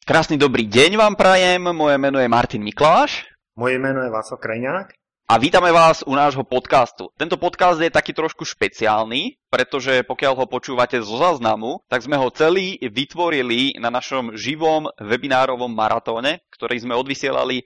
Krásny dobrý deň vám prajem, moje meno je Martin Mikláš. Moje jméno je Václav Krajňák. A vítame vás u nášho podcastu. Tento podcast je taký trošku špeciálny, pretože pokiaľ ho počúvate zo záznamu, tak sme ho celý vytvorili na našom živom webinárovom maratóne, ktorý sme odvysielali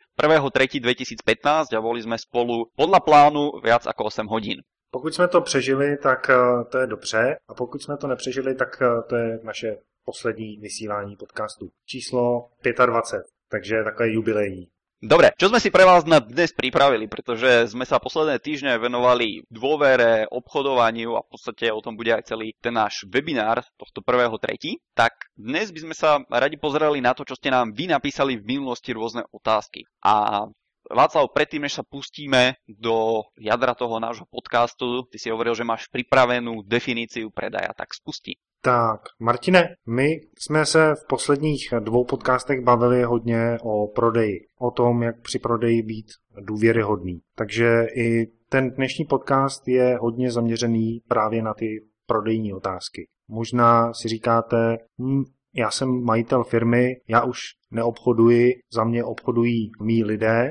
1.3.2015 a boli sme spolu podľa plánu viac ako 8 hodín. Pokud jsme to přežili, tak to je dobře, a pokud jsme to nepřežili, tak to je naše poslední vysílání podcastu. Číslo 25, takže takové jubilejní. Dobre, čo sme si pre vás na dnes pripravili, pretože sme sa posledné týždne venovali dôvere, obchodovaniu a v podstate o tom bude aj celý ten náš webinár tohto 1.3. Tak dnes by sme sa radi pozerali na to, čo ste nám vy napísali v minulosti rôzne otázky. A Václav, predtým, než sa pustíme do jadra toho nášho podcastu, ty si hovoril, že máš pripravenú definíciu predaja, tak spusti. Tak, Martine, my jsme se v posledních 2 podcastech bavili hodně o prodeji, o tom, jak při prodeji být důvěryhodný. Takže i ten dnešní podcast je hodně zaměřený právě na ty prodejní otázky. Možná si říkáte, já jsem majitel firmy, já už neobchoduji, za mě obchodují mí lidé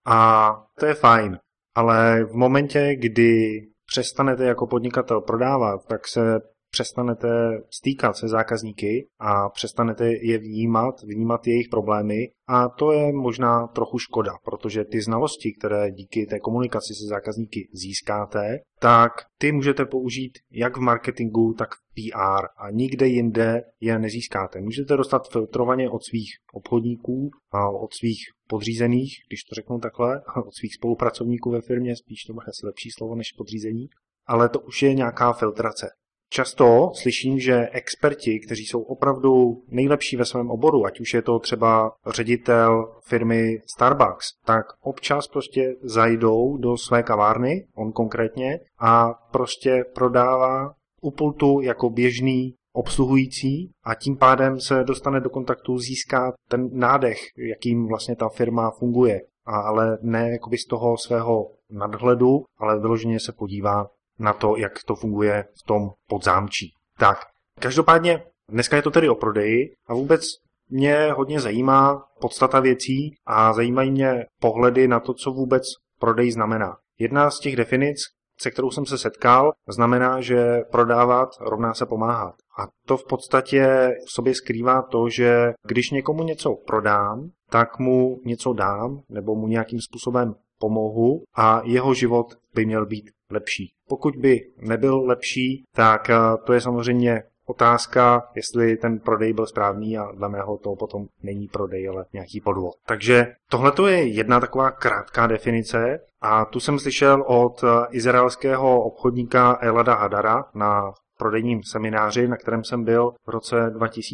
a to je fajn. Ale v momentě, kdy přestanete jako podnikatel prodávat, tak se přestanete stýkat se zákazníky a přestanete je vnímat jejich problémy a to je možná trochu škoda, protože ty znalosti, které díky té komunikaci se zákazníky získáte, tak ty můžete použít jak v marketingu, tak v PR a nikde jinde je nezískáte. Můžete dostat filtrovaně od svých obchodníků a od svých podřízených, když to řeknu takhle, od svých spolupracovníků ve firmě, spíš to bude asi lepší slovo než podřízení, ale to už je nějaká filtrace. Často slyším, že experti, kteří jsou opravdu nejlepší ve svém oboru, ať už je to třeba ředitel firmy Starbucks, tak občas prostě zajdou do své kavárny, on konkrétně, a prostě prodává u pultu jako běžný obsluhující a tím pádem se dostane do kontaktu, získá ten nádech, jakým vlastně ta firma funguje. Ale ne jakoby z toho svého nadhledu, ale vyloženě se podívá na to, jak to funguje v tom podzámčí. Tak, každopádně dneska je to tedy o prodeji a vůbec mě hodně zajímá podstata věcí a zajímají mě pohledy na to, co vůbec prodej znamená. Jedna z těch definic, se kterou jsem se setkal, znamená, že prodávat rovná se pomáhat. A to v podstatě v sobě skrývá to, že když někomu něco prodám, tak mu něco dám nebo mu nějakým způsobem pomohu a jeho život by měl být lepší. Pokud by nebyl lepší, tak to je samozřejmě otázka, jestli ten prodej byl správný a dle mého to potom není prodej, ale nějaký podvod. Takže tohle je jedna taková krátká definice a tu jsem slyšel od izraelského obchodníka Elada Hadara na prodejním semináři, na kterém jsem byl v roce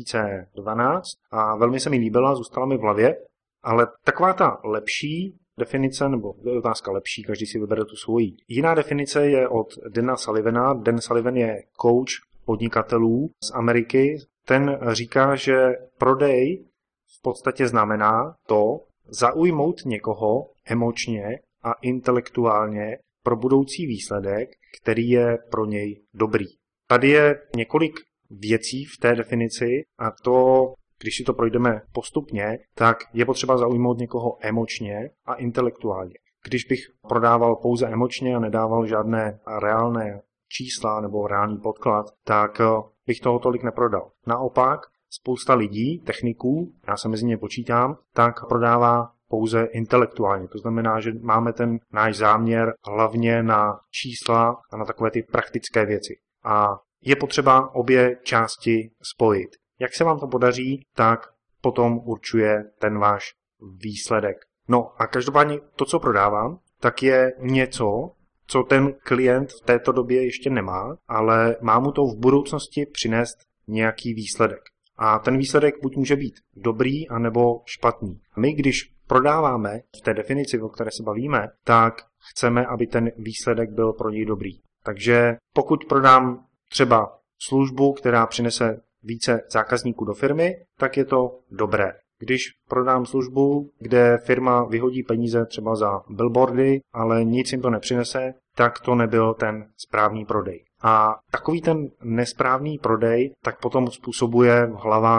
2012 a velmi se mi líbila, zůstala mi v hlavě, ale taková ta lepší definice, nebo otázka lepší, každý si vybere tu svoji. Jiná definice je od Dana Sullivana. Dan Sullivan je coach podnikatelů z Ameriky. Ten říká, že prodej v podstatě znamená to zaujmout někoho emočně a intelektuálně pro budoucí výsledek, který je pro něj dobrý. Tady je několik věcí v té definici a to, když si to projdeme postupně, tak je potřeba zaujmout někoho emočně a intelektuálně. Když bych prodával pouze emočně a nedával žádné reálné čísla nebo reálný podklad, tak bych toho tolik neprodal. Naopak, spousta lidí, techniků, já se mezi ně počítám, tak prodává pouze intelektuálně. To znamená, že máme ten náš záměr hlavně na čísla a na takové ty praktické věci. A je potřeba obě části spojit. Jak se vám to podaří, tak potom určuje ten váš výsledek. No a každopádně to, co prodávám, tak je něco, co ten klient v této době ještě nemá, ale má mu to v budoucnosti přinést nějaký výsledek. A ten výsledek buď může být dobrý, anebo špatný. My, když prodáváme v té definici, o které se bavíme, tak chceme, aby ten výsledek byl pro něj dobrý. Takže pokud prodám třeba službu, která přinese více zákazníků do firmy, tak je to dobré. Když prodám službu, kde firma vyhodí peníze třeba za billboardy, ale nic jim to nepřinese, tak to nebyl ten správný prodej. A takový ten nesprávný prodej tak potom způsobuje v hlavách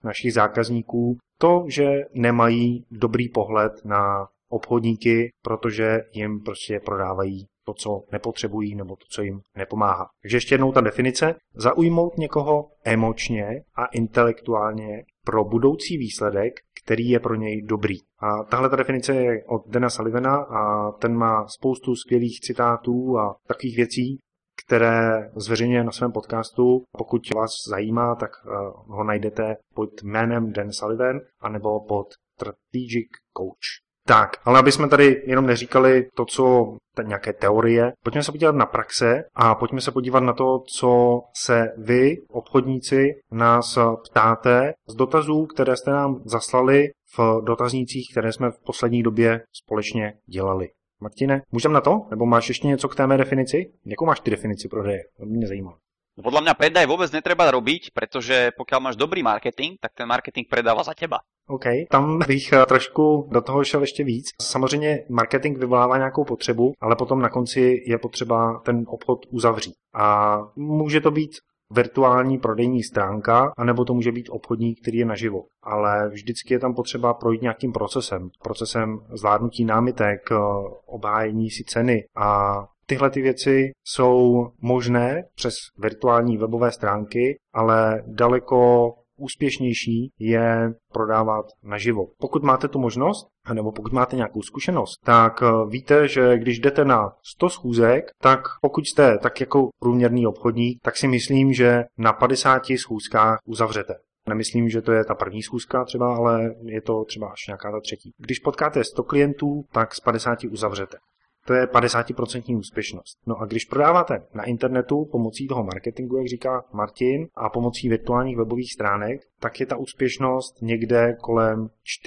našich zákazníků to, že nemají dobrý pohled na obchodníky, protože jim prostě prodávají to, co nepotřebují, nebo to, co jim nepomáhá. Takže ještě jednou ta definice. Zaujmout někoho emočně a intelektuálně pro budoucí výsledek, který je pro něj dobrý. A tahle ta definice je od Dana Sullivana a ten má spoustu skvělých citátů a takových věcí, které zveřejňuje na svém podcastu. Pokud vás zajímá, tak ho najdete pod jménem Dan Sullivan anebo pod Strategic Coach. Tak, ale aby jsme tady jenom neříkali to, co nějaké teorie, pojďme se podívat na praxe a pojďme se podívat na to, co se vy, obchodníci, nás ptáte z dotazů, které jste nám zaslali v dotaznících, které jsme v poslední době společně dělali. Martine, můžeme na to? Nebo máš ještě něco k té mé definici? Jakou máš ty definici prodeje? To mě zajímá. Podľa mňa predaj vôbec netreba robiť, pretože pokiaľ máš dobrý marketing, tak ten marketing predáva za teba. OK, tam bych trošku do toho šel ještě víc. Samozřejmě marketing vyvolává nějakou potřebu, ale potom na konci je potřeba ten obchod uzavřít. A může to být virtuální prodejní stránka, anebo to může být obchodník, který je naživo. Ale vždycky je tam potřeba projít nějakým procesem zvládnutí námitek, obhájení si ceny a tyhle ty věci jsou možné přes virtuální webové stránky, ale daleko úspěšnější je prodávat naživo. Pokud máte tu možnost, nebo pokud máte nějakou zkušenost, tak víte, že když jdete na 100 schůzek, tak pokud jste tak jako průměrný obchodník, tak si myslím, že na 50 schůzkách uzavřete. Nemyslím, že to je ta první schůzka třeba, ale je to třeba až nějaká ta třetí. Když potkáte 100 klientů, tak z 50 uzavřete. To je 50% úspěšnost. No a když prodáváte na internetu pomocí toho marketingu, jak říká Martin, a pomocí virtuálních webových stránek, tak je ta úspěšnost někde kolem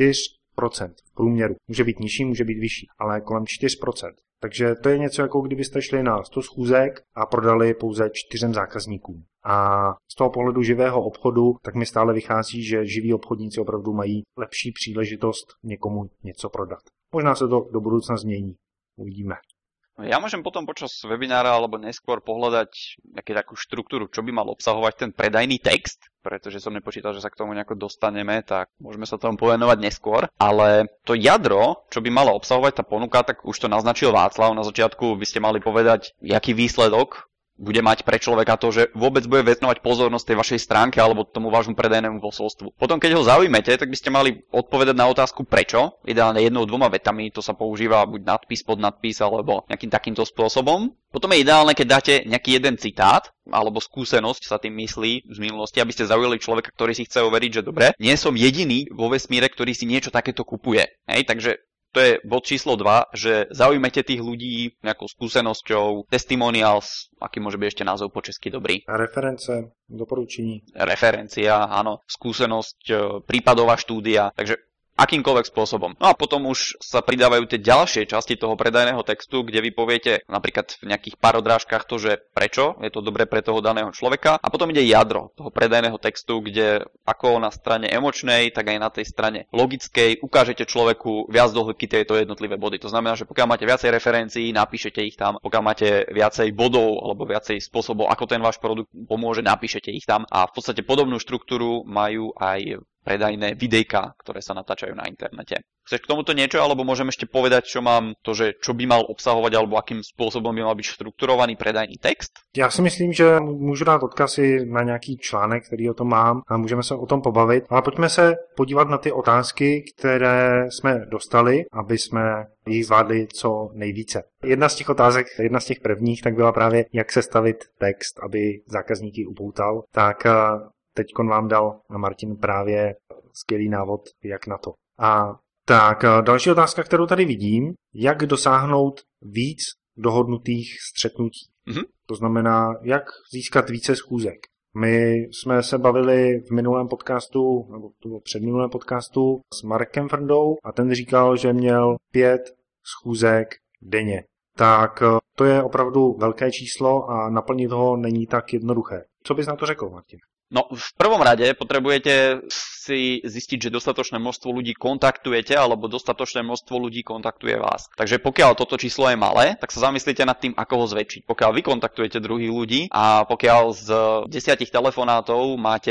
4% v průměru. Může být nižší, může být vyšší, ale kolem 4%. Takže to je něco, jako kdybyste šli na 100 schůzek a prodali pouze 4 zákazníkům. A z toho pohledu živého obchodu, tak mi stále vychází, že živí obchodníci opravdu mají lepší příležitost někomu něco prodat. Možná se to do budoucna změní. Uvidíme. Ja môžem potom počas webinára alebo neskôr pohľadať takú štruktúru, čo by mal obsahovať ten predajný text, pretože som nepočítal, že sa k tomu nejako dostaneme, tak môžeme sa tomu povenovať neskôr. Ale to jadro, čo by mala obsahovať tá ponuka, tak už to naznačil Václav. Na začiatku by ste mali povedať, jaký výsledok bude mať pre človeka to, že vôbec bude venovať pozornosť tej vašej stránke alebo tomu vášmu predajnému posolstvu. Potom, keď ho zaujmete, tak by ste mali odpovedať na otázku prečo, ideálne 1-2 vetami, to sa používa buď nadpis, podnadpis alebo nejakým takýmto spôsobom. Potom je ideálne, keď dáte nejaký jeden citát alebo skúsenosť, sa tým myslí z minulosti, aby ste zaujali človeka, ktorý si chce overiť, že dobre, nie som jediný vo vesmíre, ktorý si niečo takéto kupuje. Hej, takže to je bod číslo 2, že zaujmete tých ľudí nejakou skúsenosťou, testimonials, aký môže byť ešte názov po česky dobrý. Reference, doporučení. Referencia, áno, skúsenosť, prípadová štúdia, takže akýmkoľvek spôsobom. No a potom už sa pridávajú tie ďalšie časti toho predajného textu, kde vy poviete napríklad v nejakých parodrážkach to, že prečo je to dobré pre toho daného človeka. A potom ide jadro toho predajného textu, kde ako na strane emočnej, tak aj na tej strane logickej ukážete človeku viac do hĺbky tieto jednotlivé body. To znamená, že pokiaľ máte viacej referencií, napíšete ich tam. Pokiaľ máte viacej bodov alebo viacej spôsobov, ako ten váš produkt pomôže, napíšete ich tam. A v podstate podobnú štruktúru majú aj predajné videjka, ktoré sa natáčajú na internete. Chceš k tomuto niečo, alebo môžem ešte povedať, čo mám to, že čo by mal obsahovať, alebo akým spôsobom by mal byť štrukturovaný predajný text? Já si myslím, že můžu dát odkazy na nějaký článek, který o tom mám a můžeme se o tom pobavit. Ale pojďme se podívat na ty otázky, které jsme dostali, aby jsme jich zvládli co nejvíce. Jedna z těch otázek, jedna z těch prvních, tak byla právě, jak sestavit text, aby zákazníky upoutal. Tak teďkon vám dal Martin právě skvělý návod, jak na to. A tak další otázka, kterou tady vidím, jak dosáhnout víc dohodnutých střetnutí. Mm-hmm. To znamená, jak získat více schůzek. My jsme se bavili v minulém podcastu, nebo to bylo předminulém podcastu s Markem Frndou a ten říkal, že měl 5 schůzek denně. Tak to je opravdu velké číslo a naplnit ho není tak jednoduché. Co bys na to řekl, Martin? No, v prvom rade potrebujete si zistiť, že dostatočné množstvo ľudí kontaktujete, alebo dostatočné množstvo ľudí kontaktuje vás. Takže pokiaľ toto číslo je malé, tak sa zamyslite nad tým, ako ho zväčšiť. Pokiaľ vy kontaktujete druhých ľudí a pokiaľ z 10 telefonátov máte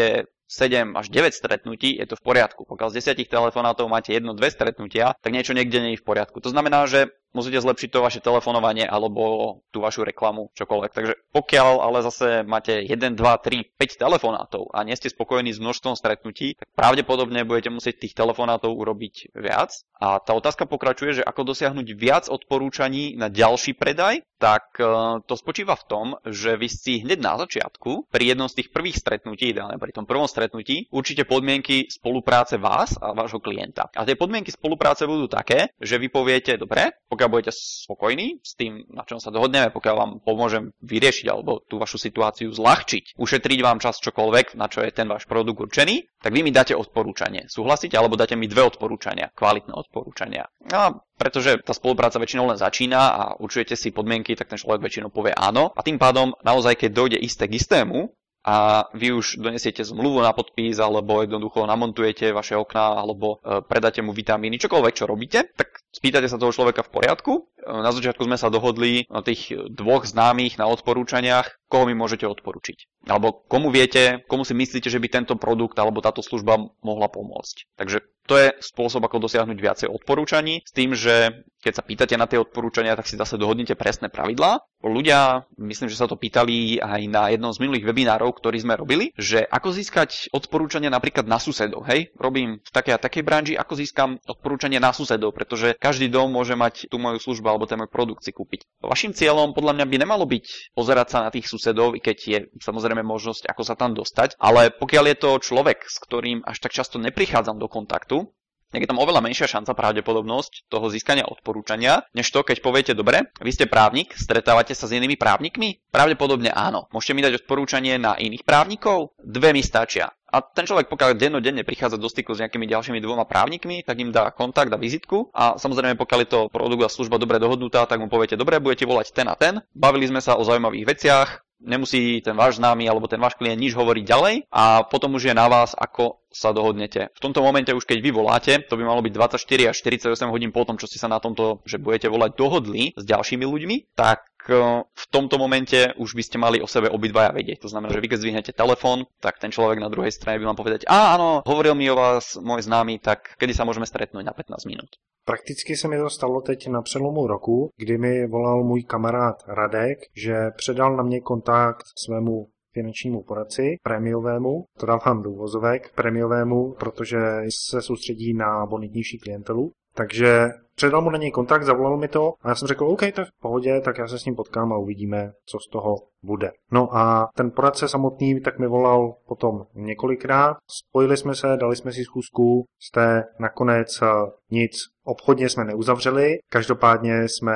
7 až 9 stretnutí, je to v poriadku. Pokiaľ z 10 telefonátov máte 1-2 stretnutia, tak niečo niekde nie je v poriadku. To znamená, že musíte zlepšiť to vaše telefonovanie alebo tú vašu reklamu, čokoľvek. Takže pokiaľ ale zase máte 1, 2, 3, 5 telefonátov a nie ste spokojní s množstvom stretnutí, tak pravdepodobne budete musieť tých telefonátov urobiť viac. A tá otázka pokračuje, že ako dosiahnuť viac odporúčaní na ďalší predaj, tak to spočíva v tom, že vy si hneď na začiatku, pri jednom z tých prvých stretnutí, ideálne pri tom prvom stretnutí, určite podmienky spolupráce vás a vášho klienta. A tie podmienky spolupráce budú také, že vy poviete, dobre, pokiaľ budete spokojní s tým, na čom sa dohodneme, pokiaľ vám pomôžem vyriešiť alebo tú vašu situáciu zľahčiť, ušetriť vám čas čokoľvek, na čo je ten váš produkt určený, tak vy mi dáte odporúčanie. Súhlasíte? Alebo dáte mi 2 odporúčania, kvalitné odporúčania. A pretože tá spolupráca väčšinou len začína a určujete si podmienky, tak ten človek väčšinou povie áno. A tým pádom naozaj, keď dojde isté k istému, a vy už donesiete zmluvu na podpis, alebo jednoducho namontujete vaše okná, alebo predáte mu vitamíny, čokoľvek, čo robíte, tak spýtate sa toho človeka v poriadku. Na začiatku sme sa dohodli na tých 2 známych na odporúčaniach, koho mi môžete odporučiť. Alebo komu viete, komu si myslíte, že by tento produkt alebo táto služba mohla pomôcť. Takže to je spôsob, ako dosiahnuť viacej odporúčaní, s tým, že keď sa pýtate na tie odporúčania, tak si zase dohodnite presné pravidlá. Ľudia, myslím, že sa to pýtali aj na jednom z minulých webinárov, ktorý sme robili, že ako získať odporúčania napríklad na susedov, hej? Robím v takej a takej branži, ako získam odporúčanie na susedov, pretože každý dom môže mať tú moju službu alebo ten môj produkt si kúpiť. Vaším cieľom podľa mňa by nemalo byť pozerať sa na tých susedov, i keď je samozrejme možnosť, ako sa tam dostať, ale pokiaľ je to človek, s ktorým až tak často neprichádzam do kontaktu, tak je tam oveľa menšia šanca, pravdepodobnosť toho získania odporúčania, než to, keď poviete, dobre, vy ste právnik, stretávate sa s inými právnikmi? Pravdepodobne áno. Môžete mi dať odporúčanie na iných právnikov? 2 mi stačia. A ten človek, pokiaľ dennodenne prichádza do styku s nejakými ďalšími 2 právnikmi, tak im dá kontakt a vizitku. A samozrejme, pokiaľ je to produkt a služba dobre dohodnutá, tak mu poviete, dobre, budete volať ten a ten. Bavili sme sa o zaujímavých veciach. Nemusí ten váš známy alebo ten váš klient nič hovoriť ďalej a potom už je na vás, ako sa dohodnete. V tomto momente už keď vy voláte, to by malo byť 24 až 48 hodín po tom, čo ste sa na tomto, že budete volať, dohodli s ďalšími ľuďmi, tak v tomto momente už by ste mali o sebe obidvaja vedieť. To znamená, že vy keď zdvihnete telefón, tak ten človek na druhej strane by vám povedať, áno, hovoril mi o vás môj známy, tak kedy sa môžeme stretnúť na 15 minút. Prakticky se mi to stalo teď na přelomu roku, kdy mi volal můj kamarád Radek, že předal na mě kontakt svému finančnímu poradci, prémiovému, to dávám do uvozovek, prémiovému, protože se soustředí na bonitnější klientelu. Takže předal mu na něj kontakt, zavolal mi to a já jsem řekl, OK, to je v pohodě, tak já se s ním potkám a uvidíme, co z toho bude. No a ten poradce samotný tak mi volal potom několikrát, spojili jsme se, dali jsme si schůzku, jste nakonec nic obchodně jsme neuzavřeli, každopádně jsme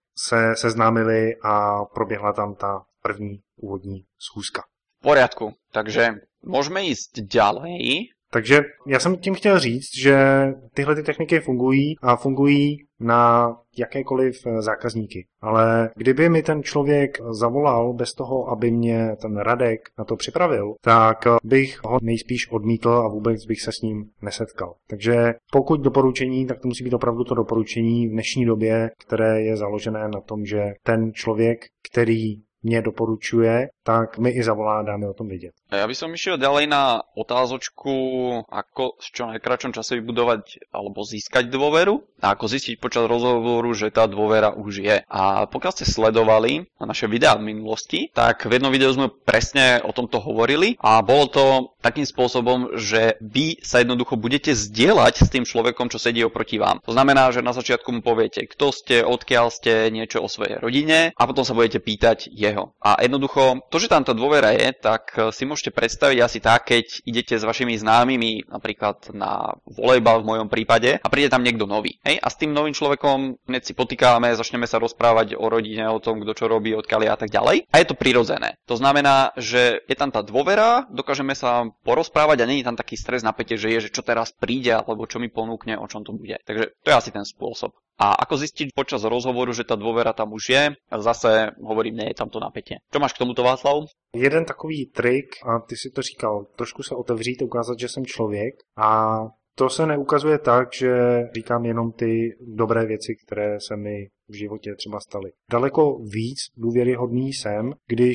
se seznámili a proběhla tam ta první úvodní schůzka. V poriadku, takže môžeme ísť ďalej. Takže já jsem tím chtěl říct, že tyhle ty techniky fungují a fungují na jakékoliv zákazníky. Ale kdyby mi ten člověk zavolal bez toho, aby mě ten Radek na to připravil, tak bych ho nejspíš odmítl a vůbec bych se s ním nesetkal. Takže pokud doporučení, tak to musí být opravdu to doporučení v dnešní době, které je založené na tom, že ten člověk, který mě doporučuje, tak mi i zavolá, dáme o tom vědět. Ja by som išiel ďalej na otázočku, ako v čo najkračom čase vybudovať alebo získať dôveru a ako zistiť počas rozhovoru, že tá dôvera už je. A pokiaľ ste sledovali naše videá v minulosti, tak v jednom videu sme presne o tomto hovorili a bolo to takým spôsobom, že vy sa jednoducho budete zdieľať s tým človekom, čo sedí oproti vám. To znamená, že na začiatku mu poviete, kto ste, odkiaľ ste, niečo o svojej rodine a potom sa budete pýtať jeho. A jednoducho, to, že tam tá dôvera je, tak si môžete predstaviť asi tak, keď idete s vašimi známymi napríklad na volejbal v mojom prípade a príde tam niekto nový. Hej? A s tým novým človekom hneď si potýkame, začneme sa rozprávať o rodine, o tom, kto čo robí, odkiaľ je a tak ďalej. A je to prirodzené. To znamená, že je tam tá dôvera, dokážeme sa porozprávať a nie je tam taký stres, napätie, že je, že čo teraz príde alebo čo mi ponúkne, o čom to bude. Takže to je asi ten spôsob. A ako zistiť počas rozhovoru, že tá dôvera tam už je? Zase hovorím, nie je tam to napätie. Čo máš k tomuto, Václav? Jeden takový trik, a ty si to říkal, trošku se otevřít, ukázat, že jsem člověk a to se neukazuje tak, že říkám jenom ty dobré věci, které se mi v životě třeba staly. Daleko víc důvěryhodný jsem, když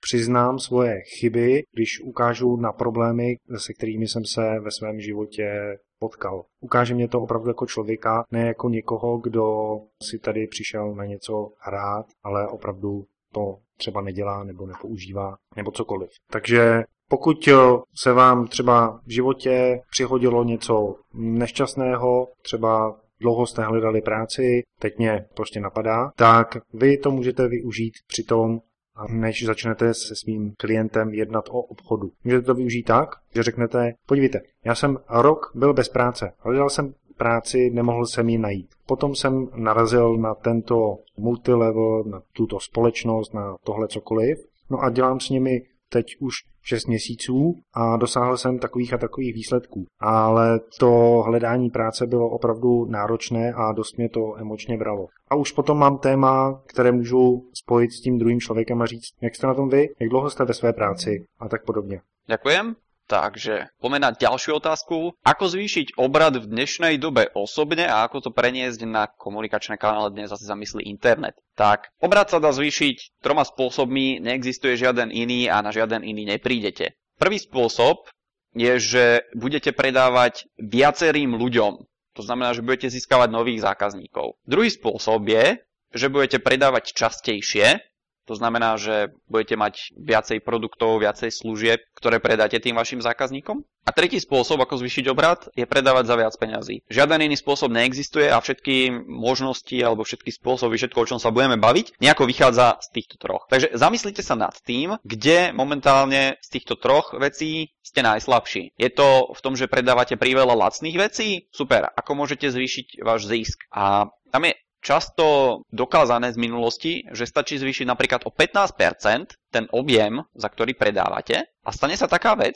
přiznám svoje chyby, když ukážu na problémy, se kterými jsem se ve svém životě potkal. Ukáže mě to opravdu jako člověka, ne jako někoho, kdo si tady přišel na něco hrát, ale opravdu to třeba nedělá nebo nepoužívá nebo cokoliv. Takže pokud se vám třeba v životě přihodilo něco nešťastného, třeba dlouho jste hledali práci, teď mě prostě napadá, tak vy to můžete využít při tom, než začnete se svým klientem jednat o obchodu. Můžete to využít tak, že řeknete, podívejte, já jsem rok byl bez práce, hledal jsem práci, nemohl jsem ji najít. Potom jsem narazil na tento multilevel, na tuto společnost, na tohle cokoliv, no a dělám s nimi teď už 6 měsíců a dosáhl jsem takových a takových výsledků. Ale to hledání práce bylo opravdu náročné a dost mě to emočně bralo. A už potom mám téma, které můžu spojit s tím druhým člověkem a říct, jak jste na tom vy, jak dlouho jste ve své práci a tak podobně. Ďakujem. Takže poďme na ďalšiu otázku. Ako zvýšiť obrad v dnešnej dobe osobne a ako to preniesť na komunikačné kanály, dnes asi zamyslí internet. Tak, obrad sa dá zvýšiť 3 spôsobmi, neexistuje žiaden iný a na žiaden iný neprídete. Prvý spôsob je, že budete predávať viacerým ľuďom. To znamená, že budete získavať nových zákazníkov. Druhý spôsob je, že budete predávať častejšie. To znamená, že budete mať viacej produktov, viacej služieb, ktoré predáte tým vašim zákazníkom. A tretí spôsob, ako zvýšiť obrat, je predávať za viac peňazí. Žiaden iný spôsob neexistuje a všetky možnosti alebo všetky spôsoby, všetko, o čom sa budeme baviť, nejako vychádza z týchto troch. Takže zamyslite sa nad tým, kde momentálne z týchto troch vecí ste najslabší. Je to v tom, že predávate priveľa lacných vecí? Super. Ako môžete zvýšiť váš zisk? A tam je často dokázané z minulosti, že stačí zvýšiť napríklad o 15% ten objem, za ktorý predávate a stane sa taká vec,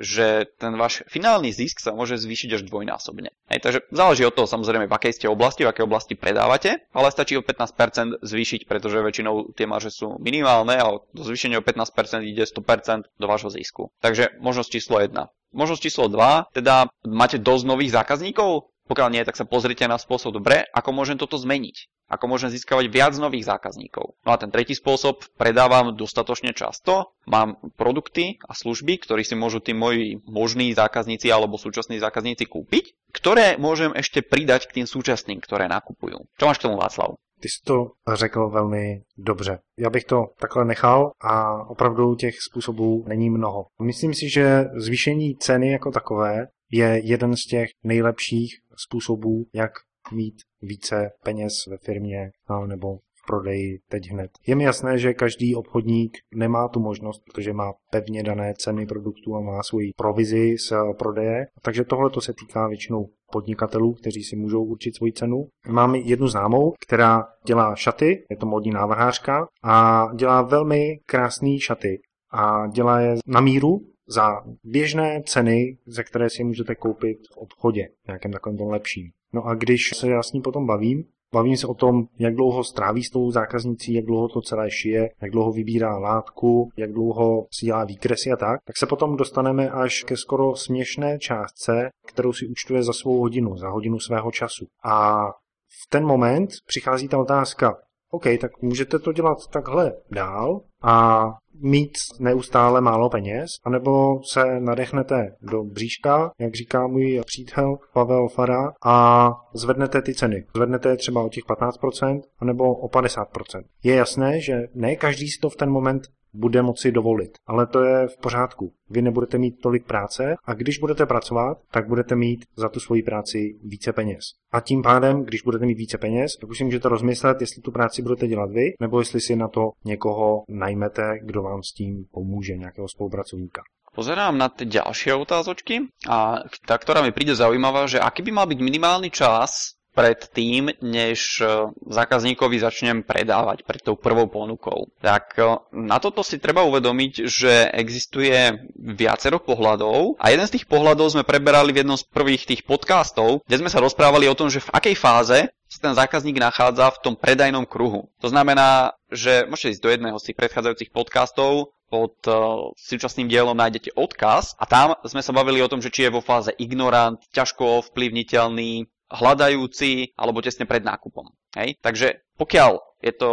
že ten váš finálny zisk sa môže zvýšiť až dvojnásobne. Takže záleží od toho samozrejme, v akej ste oblasti, v akej oblasti predávate, ale stačí o 15% zvýšiť, pretože väčšinou tie marže sú minimálne a do zvýšenia o 15% ide 100% do vášho zisku. Takže možnosť číslo 1. Možnosť číslo 2, teda máte dosť nových zákazníkov? Pokiaľ nie, tak sa pozrite na spôsob, dobre, ako môžem toto zmeniť. Ako môžem získavať viac nových zákazníkov. No a ten tretí spôsob, predávam dostatočne často, mám produkty a služby, ktoré si môžu tí moji možní zákazníci alebo súčasní zákazníci kúpiť, ktoré môžem ešte pridať k tým súčasným, ktoré nakupujú. Čo máš k tomu, Václav? Ty jsi to řekl velmi dobře. Já bych to takhle nechal a opravdu těch způsobů není mnoho. Myslím si, že zvýšení ceny jako takové je jeden z těch nejlepších způsobů, jak mít více peněz ve firmě nebo v prodeji teď hned. Je mi jasné, že každý obchodník nemá tu možnost, protože má pevně dané ceny produktů a má svoji provizi z prodeje, takže tohle to se týká většinou podnikatelů, kteří si můžou určit svoji cenu. Mám jednu známou, která dělá šaty, je to módní návrhářka a dělá velmi krásné šaty a dělá je na míru za běžné ceny, za které si můžete koupit v obchodě, nějakém takovém tom lepším. No a když se já s ní potom bavím se o tom, jak dlouho stráví s tou zákaznicí, jak dlouho to celé šije, jak dlouho vybírá látku, jak dlouho si dělá výkresy a tak se potom dostaneme až ke skoro směšné částce, kterou si účtuje za svou hodinu, za hodinu svého času. A v ten moment přichází ta otázka, OK, tak můžete to dělat takhle dál a mít neustále málo peněz, anebo se nadechnete do bříška, jak říká můj přítel Pavel Fara, a zvednete ty ceny. Zvednete je třeba o těch 15%, anebo o 50%. Je jasné, že ne každý si to v ten moment bude moci dovolit, ale to je v pořádku. Vy nebudete mít tolik práce a když budete pracovat, tak budete mít za tu svoji práci více peněz. A tím pádem, když budete mít více peněz, tak už si můžete rozmyslet, jestli tu práci budete dělat vy, nebo jestli si na to někoho najmete, kdo vám s tím pomůže, nějakého spolupracovníka. Pozerám na tie ďalšie otázočky a tá, ktorá mi príde zaujímavá, že aký by mal byť minimálny čas pred tým, než zákazníkovi začnem predávať pred tou prvou ponukou. Tak na toto si treba uvedomiť, že existuje viacero pohľadov a jeden z tých pohľadov sme preberali v jednom z prvých tých podcastov, kde sme sa rozprávali o tom, že v akej fáze sa ten zákazník nachádza v tom predajnom kruhu. To znamená, že môžete ísť do jedného z tých predchádzajúcich podcastov, pod súčasným dielom nájdete odkaz a tam sme sa bavili o tom, že či je vo fáze ignorant, ťažko ovplyvniteľný, hľadajúci alebo tesne pred nákupom. Hej? Takže pokiaľ je to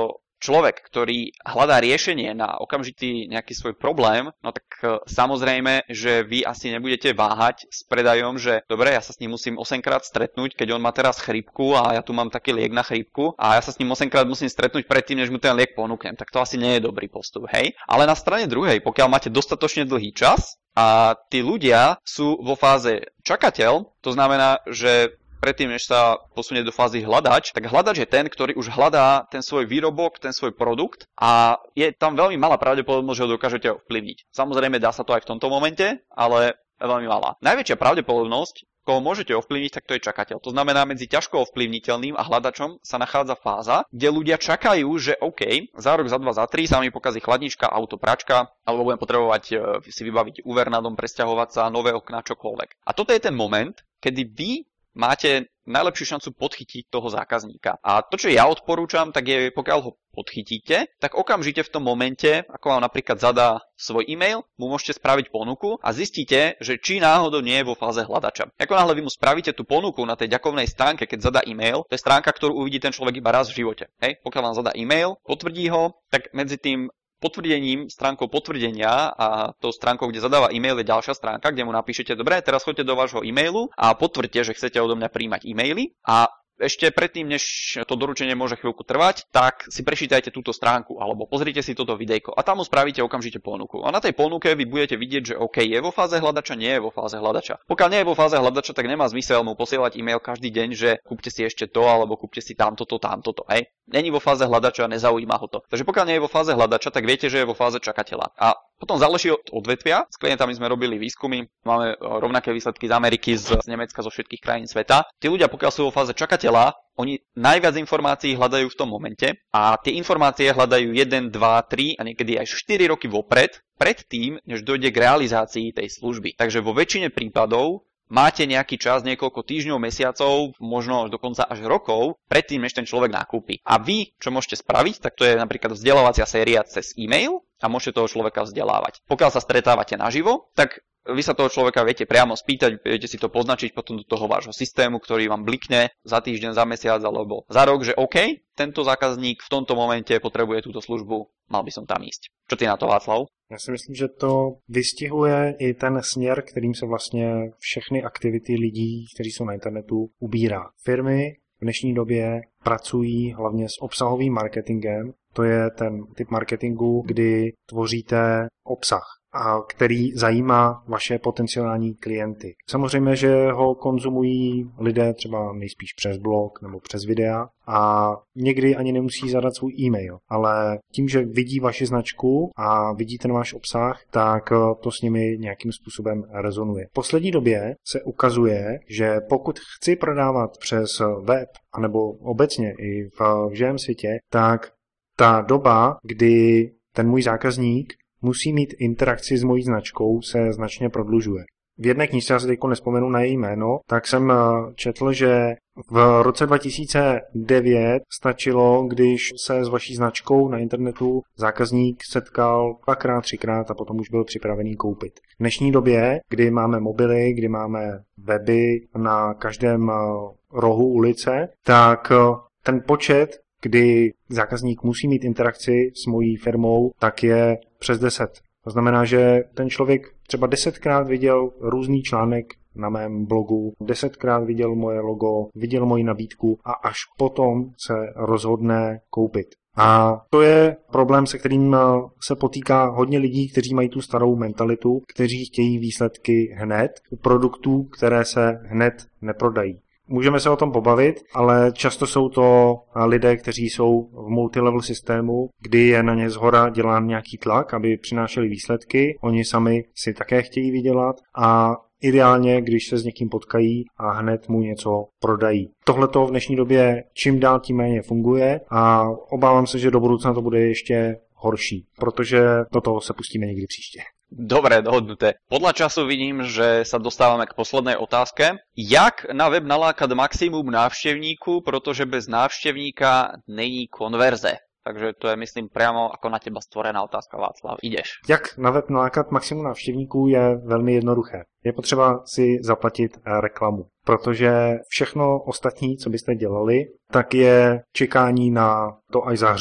človek, ktorý hľadá riešenie na okamžitý nejaký svoj problém, no tak samozrejme, že vy asi nebudete váhať s predajom, že dobre, ja sa s ním musím 8-krát stretnúť, keď on má teraz chrípku a ja tu mám taký liek na chrípku a ja sa s ním 8-krát musím stretnúť predtým, než mu ten liek ponúknem. Tak to asi nie je dobrý postup, hej? Ale na strane druhej, pokiaľ máte dostatočne dlhý čas a tí ľudia sú vo fáze čakateľ, to znamená, že predtým, než sa posunie do fázy hľadač, tak hľadač je ten, ktorý už hľadá ten svoj výrobok, ten svoj produkt a je tam veľmi malá pravdepodobnosť, že ho dokážete ovplyvniť. Samozrejme dá sa to aj v tomto momente, ale veľmi malá. Najväčšia pravdepodobnosť, koho môžete ovplyvniť, tak to je čakateľ. To znamená, medzi ťažko ovplyvniteľným a hľadačom sa nachádza fáza, kde ľudia čakajú, že OK, za rok, za 2, za 3 sa mi pokazí chladnička, auto, pračka, alebo budem potrebovať si vybaviť úver na dom, presťahovať sa, nové okná, čokoľvek. A toto je ten moment, kedy vy máte najlepšiu šancu podchytiť toho zákazníka. A to, čo ja odporúčam, tak je, pokiaľ ho podchytíte, tak okamžite v tom momente, ako vám napríklad zadá svoj e-mail, mu môžete spraviť ponuku a zistíte, že či náhodou nie je vo fáze hľadača. Ako náhle vy mu spravíte tú ponuku na tej ďakovnej stránke, keď zadá e-mail, to je stránka, ktorú uvidí ten človek iba raz v živote. Hej? Pokiaľ vám zadá e-mail, potvrdí ho, tak medzi tým potvrdením, stránkou potvrdenia a tou stránkou, kde zadáva e-mail, je ďalšia stránka, kde mu napíšete, dobre, teraz choďte do vášho e-mailu a potvrdte, že chcete odo mňa príjmať e-maily a ešte predtým, než to doručenie môže chvíľku trvať, tak si prečítajte túto stránku alebo pozrite si toto videjko a tam mu spravíte okamžite ponuku. A na tej ponuke vy budete vidieť, že OK, je vo fáze hľadača, nie je vo fáze hľadača. Pokiaľ nie je vo fáze hľadača, tak nemá zmysel mu posielať e-mail každý deň, že kúpte si ešte to alebo kúpte si tamto, hej. Není vo fáze hľadača, nezaujíma ho to. Takže pokiaľ nie je vo fáze hľadača, tak viete, že je vo fáze čakateľa. A potom záleží od odvetvia. S klientami sme robili výskumy, máme rovnaké výsledky z Ameriky, z Nemecka, zo všetkých krajín sveta. Tí ľudia, pokiaľ sú vo fáze čakateľa, oni najviac informácií hľadajú v tom momente a tie informácie hľadajú 1, 2, 3 a niekedy až 4 roky vopred, predtým, než dojde k realizácii tej služby. Takže vo väčšine prípadov máte nejaký čas, niekoľko týždňov, mesiacov, možno dokonca až rokov, predtým, než ten človek nakúpi. A vy, čo môžete spraviť, tak to je napríklad vzdelávacia séria cez e-mail a môžete toho človeka vzdelávať. Pokiaľ sa stretávate naživo, tak vy sa toho človeka viete priamo spýtať, viete si to poznačiť potom do toho vášho systému, ktorý vám blikne za týždeň, za mesiac alebo za rok, že OK, tento zákazník v tomto momente potrebuje túto službu, mal by som tam ísť. Čo ty na to, Václav? Já si myslím, že to vystihuje i ten směr, kterým se vlastně všechny aktivity lidí, kteří jsou na internetu, ubírá. Firmy v dnešní době pracují hlavně s obsahovým marketingem. To je ten typ marketingu, kdy tvoříte obsah, a který zajímá vaše potenciální klienty. Samozřejmě, že ho konzumují lidé třeba nejspíš přes blog nebo přes videa a někdy ani nemusí zadat svůj e-mail, ale tím, že vidí vaši značku a vidí ten váš obsah, tak to s nimi nějakým způsobem rezonuje. V poslední době se ukazuje, že pokud chci prodávat přes web, anebo obecně i v živém světě, tak ta doba, kdy ten můj zákazník musí mít interakci s mojí značkou, se značně prodlužuje. V jedné knížce, já se teď nespomenu na její jméno, tak jsem četl, že v roce 2009 stačilo, když se s vaší značkou na internetu zákazník setkal 2x, 3x a potom už byl připravený koupit. V dnešní době, kdy máme mobily, kdy máme weby na každém rohu ulice, tak ten počet, kdy zákazník musí mít interakci s mojí firmou, tak je přes 10. To znamená, že ten člověk třeba 10krát viděl různý článek na mém blogu, 10krát viděl moje logo, viděl moji nabídku a až potom se rozhodne koupit. A to je problém, se kterým se potýká hodně lidí, kteří mají tu starou mentalitu, kteří chtějí výsledky hned u produktů, které se hned neprodají. Můžeme se o tom pobavit, ale často jsou to lidé, kteří jsou v multilevel systému, kdy je na ně zhora dělán nějaký tlak, aby přinášeli výsledky. Oni sami si také chtějí vydělat a ideálně, když se s někým potkají a hned mu něco prodají. Tohle to v dnešní době čím dál tím méně funguje a obávám se, že do budoucna to bude ještě horší, protože do toho se pustíme někdy příště. Dobre, dohodnuté. Podľa času vidím, že sa dostávame k poslednej otázke. Jak na web nalákať maximum návštevníku, protože bez návštevníka není konverze? Takže to je, myslím, priamo ako na teba stvorená otázka, Václav. Ideš. Jak na web nalákat maximum návštěvníků je velmi jednoduché. Je potřeba si zaplatit reklamu, protože všechno ostatní, co byste dělali, tak je čekání na to, až zahřmí.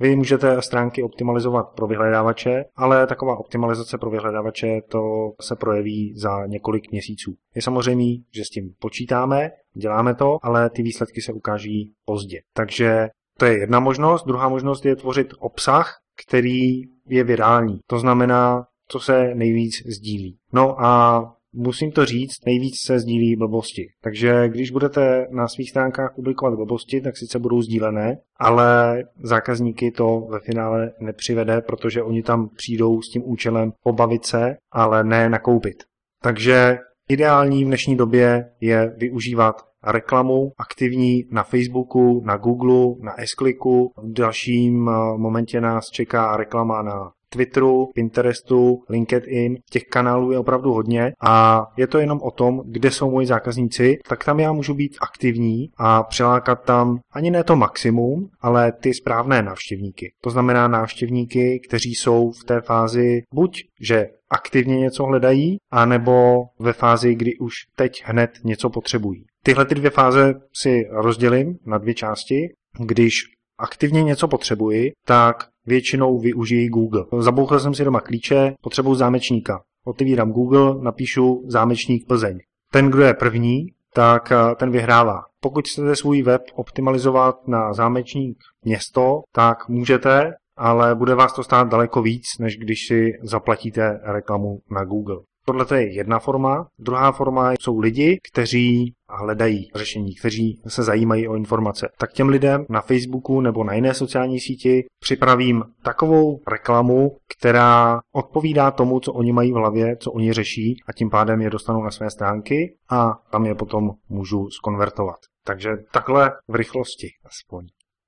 Vy můžete stránky optimalizovat pro vyhledávače, ale taková optimalizace pro vyhledávače to se projeví za několik měsíců. Je samozřejmě, že s tím počítáme, děláme to, ale ty výsledky se ukáží pozdě. Takže to je jedna možnost. Druhá možnost je tvořit obsah, který je virální. To znamená, co se nejvíc sdílí. No a musím to říct, nejvíc se sdílí blbosti. Takže když budete na svých stránkách publikovat blbosti, tak sice budou sdílené, ale zákazníky to ve finále nepřivede, protože oni tam přijdou s tím účelem pobavit se, ale ne nakoupit. Takže ideální v dnešní době je využívat reklamu aktivní na Facebooku, na Google, na S-Clicku. V dalším momentě nás čeká reklama na Twitteru, Pinterestu, LinkedIn. Těch kanálů je opravdu hodně a je to jenom o tom, kde jsou moji zákazníci, tak tam já můžu být aktivní a přilákat tam ani ne to maximum, ale ty správné návštěvníky. To znamená návštěvníky, kteří jsou v té fázi buď, že aktivně něco hledají, anebo ve fázi, kdy už teď hned něco potřebují. Tyhle ty dvě fáze si rozdělím na dvě části. Když aktivně něco potřebuji, tak většinou využijí Google. Zabouchl jsem si doma klíče, potřebuji zámečníka. Otevírám Google, napíšu zámečník Plzeň. Ten, kdo je první, tak ten vyhrává. Pokud chcete svůj web optimalizovat na zámečník město, tak můžete, ale bude vás to stát daleko víc, než když si zaplatíte reklamu na Google. Tohle je jedna forma. Druhá forma jsou lidi, kteří hledají řešení, kteří se zajímají o informace. Tak těm lidem na Facebooku nebo na jiné sociální síti připravím takovou reklamu, která odpovídá tomu, co oni mají v hlavě, co oni řeší a tím pádem je dostanou na své stránky a tam je potom můžu skonvertovat. Takže takhle v rychlosti aspoň.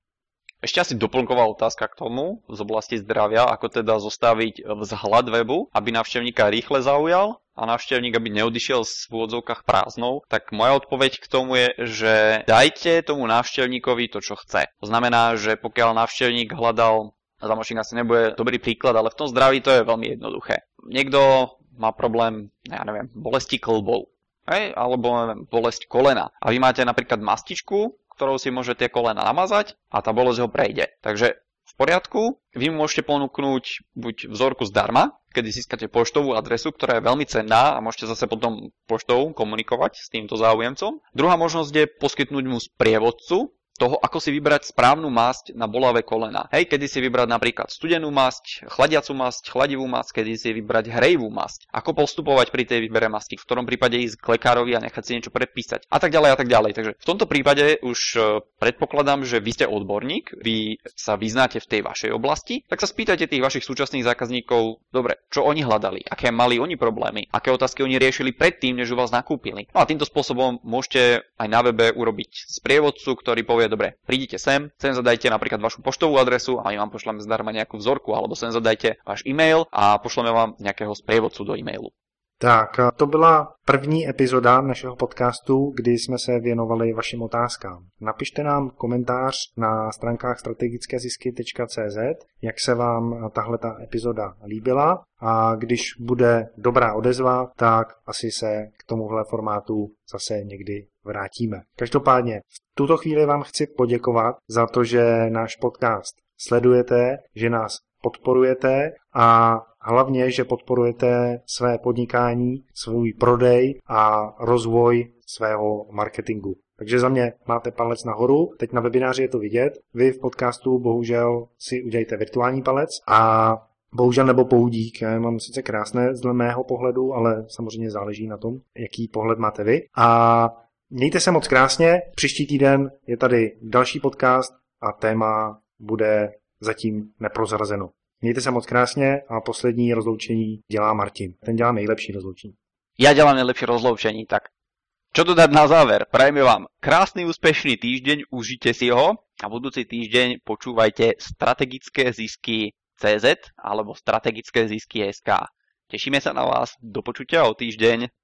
Ešte asi doplnková otázka k tomu z oblasti zdravia, ako teda zostaviť vzhľad webu, aby návštevníka rýchle zaujal a návštevník aby neodišiel v úvodzovkách prázdnou, tak moja odpoveď k tomu je, že dajte tomu návštevníkovi to, čo chce. To znamená, že pokiaľ návštevník hľadal, zámočník asi nebude dobrý príklad, ale v tom zdraví to je veľmi jednoduché. Niekto má problém, ja neviem, bolesti klbov, alebo neviem, bolesť kolena. A vy máte napríklad mastičku, ktorou si môže tie kolena namazať a tá bolesť ho prejde. Takže v poriadku, vy mu môžete ponúknuť buď vzorku zdarma, kedy získate poštovú adresu, ktorá je veľmi cenná a môžete zase potom poštou komunikovať s týmto záujemcom. Druhá možnosť je poskytnúť mu sprievodcu toho, ako si vybrať správnu masť na bolavé kolena. Hej, kedy si vybrať napríklad studenú masť, chladiacu masť, chladivú masť, kedy si vybrať hrejivú masť. Ako postupovať pri tej výbere masti, v ktorom prípade ísť k lekárovi a nechať si niečo predpísať. A tak ďalej a tak ďalej. Takže v tomto prípade už predpokladám, že vy ste odborník, vy sa vyznáte v tej vašej oblasti, tak sa spýtajte tých vašich súčasných zákazníkov, dobre, čo oni hľadali, aké mali oni problémy, aké otázky oni riešili predtým, než u vás nakúpili. No a týmto spôsobom môžete aj na webe urobiť sprievodcu, ktorý povie, dobre, prídite sem zadajte napríklad vašu poštovú adresu a my vám pošleme zdarma nejakú vzorku, alebo sem zadajte váš e-mail a pošleme vám nejakého sprievodcu do e-mailu. Tak, to byla první epizoda našeho podcastu, kdy jsme se věnovali vašim otázkám. Napište nám komentář na stránkách strategickézisky.cz, jak se vám tahleta epizoda líbila a když bude dobrá odezva, tak asi se k tomuhle formátu zase někdy vrátíme. Každopádně v tuto chvíli vám chci poděkovat za to, že náš podcast sledujete, že nás podporujete a hlavně, že podporujete své podnikání, svůj prodej a rozvoj svého marketingu. Takže za mě máte palec nahoru, teď na webináři je to vidět, vy v podcastu bohužel si udělejte virtuální palec a bohužel nebo poudík, já mám sice krásné z mého pohledu, ale samozřejmě záleží na tom, jaký pohled máte vy. A mějte se moc krásně, příští týden je tady další podcast a téma bude zatím neprozrazeno. Mějte se moc krásně a poslední rozloučení dělá Martin. Ten dělá nejlepší rozloučení. Ja dělám nejlepší rozloučení, tak čo dodať na záver? Prajeme vám krásny, úspešný týždeň, užite si ho a budúci týždeň počúvajte strategické zisky CZ alebo strategické zisky SK. Tešíme sa na vás, do počutia o týždeň.